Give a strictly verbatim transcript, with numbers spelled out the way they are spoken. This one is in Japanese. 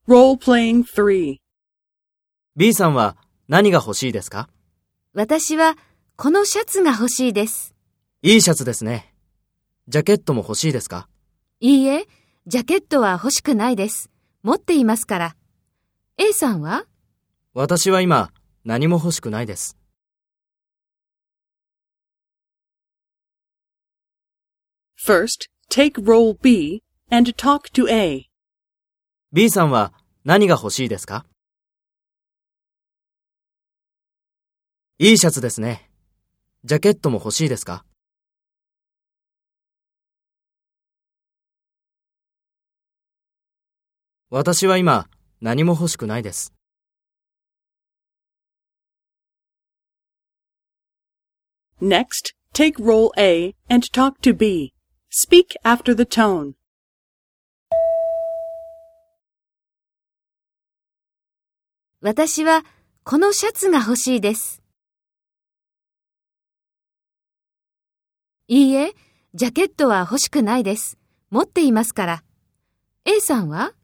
Role-playing three. B さんは何が欲しいですか？ 私はこのシャツが欲しいです。 いいシャツですね。ジャケットも欲しいですか？ いいえ、ジャケットは欲しくないです。持っていますから。A さんは？ 私は今何も欲しくないです。 First, take role B and talk to A. B さんは何が欲しいですか？いいシャツですね。ジャケットも欲しいですか？私は今何も欲しくないです。 Next, take role A and talk to B. Speak after the tone. 私はこのシャツが欲しいです。いいえ、ジャケットは欲しくないです。持っていますから。A さんは？